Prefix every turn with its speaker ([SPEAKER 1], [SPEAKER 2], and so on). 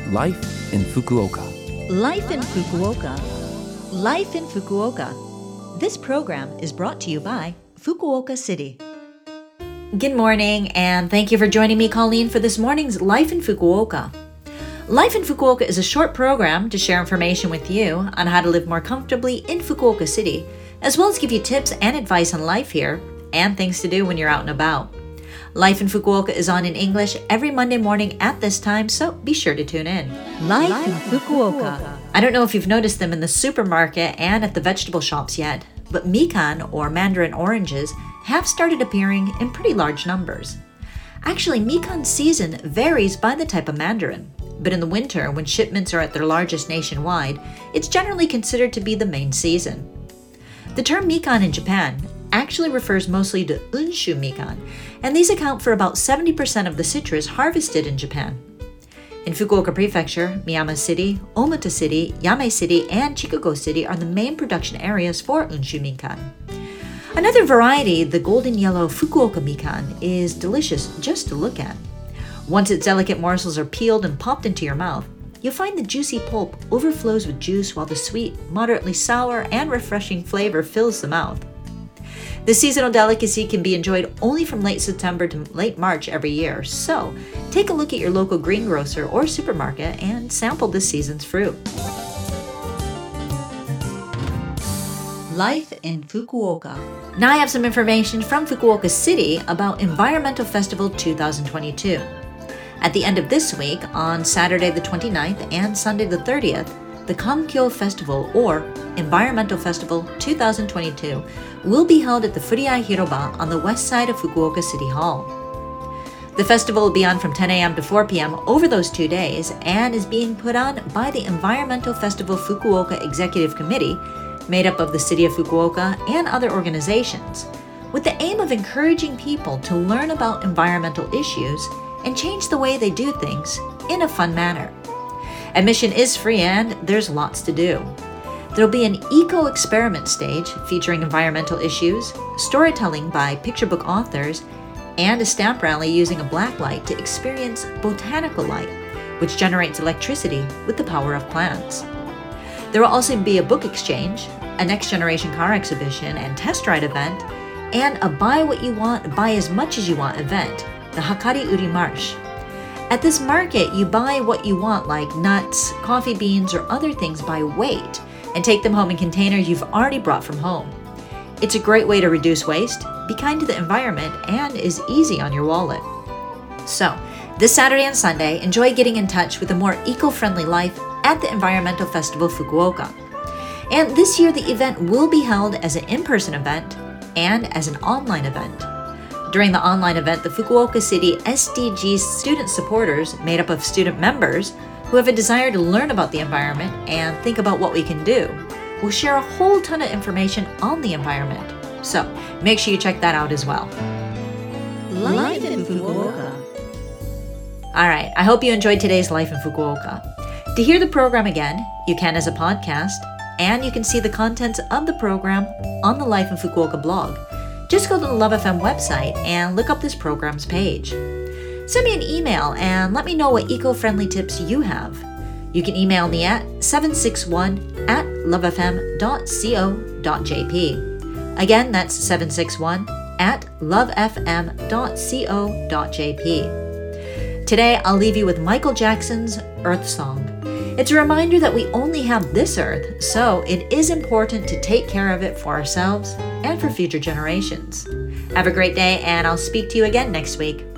[SPEAKER 1] Life in Fukuoka.
[SPEAKER 2] Life in Fukuoka. Life in Fukuoka. This program is brought to you by Fukuoka City. Good morning, and thank you for joining me, Colleen, for this morning's Life in Fukuoka. Life in Fukuoka is a short program to share information with you on how to live more comfortably in Fukuoka City, as well as give you tips and advice on life here and things to do when you're out and about. Life in Fukuoka is on in English every Monday morning at this time, so be sure to tune in. Life in Fukuoka. I don't know if you've noticed them in the supermarket and at the vegetable shops yet, but mikan, or mandarin oranges, have started appearing in pretty large numbers. Actually, mikan season varies by the type of mandarin, but in the winter, when shipments are at their largest nationwide, it's generally considered to be the main season. The term mikan in Japan actually refers mostly to unshu mikan, and these account for about 70% of the citrus harvested in Japan. In Fukuoka Prefecture, Miyama City, Omota City, Yame City, and Chikugo City are the main production areas for unshu mikan. Another variety, the golden yellow Fukuoka mikan, is delicious just to look at. Once its delicate morsels are peeled and popped into your mouth, you'll find the juicy pulp overflows with juice while the sweet, moderately sour, and refreshing flavor fills the mouth. The seasonal delicacy can be enjoyed only from late September to late March every year, so take a look at your local greengrocer or supermarket and sample this season's fruit. Life in Fukuoka. Now I have some information from Fukuoka City about Environmental Festival 2022. At the end of this week, on Saturday the 29th and Sunday the 30th, the Kankyo Festival, or Environmental Festival 2022, will be held at the Furiai Hiroba on the west side of Fukuoka City Hall. The festival will be on from 10 a.m. to 4 p.m. over those 2 days and is being put on by the Environmental Festival Fukuoka Executive Committee, made up of the City of Fukuoka and other organizations, with the aim of encouraging people to learn about environmental issues and change the way they do things in a fun manner. Admission is free and there's lots to do. There'll be an eco-experiment stage featuring environmental issues, storytelling by picture book authors, and a stamp rally using a black light to experience botanical light, which generates electricity with the power of plants. There will also be a book exchange, a next-generation car exhibition and test ride event, and a buy what you want, buy as much as you want event, the Hakari Uri Marsh. At this market, you buy what you want, like nuts, coffee beans, or other things by weight, and take them home in containers you've already brought from home. It's a great way to reduce waste, be kind to the environment, and is easy on your wallet. So, this Saturday and Sunday, enjoy getting in touch with a more eco-friendly life at the Environmental Festival Fukuoka. And this year, the event will be held as an in-person event and as an online event. During the online event, the Fukuoka City SDGs student supporters, made up of student members who have a desire to learn about the environment and think about what we can do, will share a whole ton of information on the environment. So make sure you check that out as well. Life in Fukuoka. All right, I hope you enjoyed today's Life in Fukuoka. To hear the program again, you can as a podcast, and you can see the contents of the program on the Life in Fukuoka blog. Just go to the Love FM website and look up this program's page. Send me an email and let me know what eco-friendly tips you have. You can email me at 761@lovefm.co.jp. Again, that's 761@lovefm.co.jp. Today, I'll leave you with Michael Jackson's Earth Song. It's a reminder that we only have this earth, so it is important to take care of it for ourselves and for future generations. Have a great day, and I'll speak to you again next week.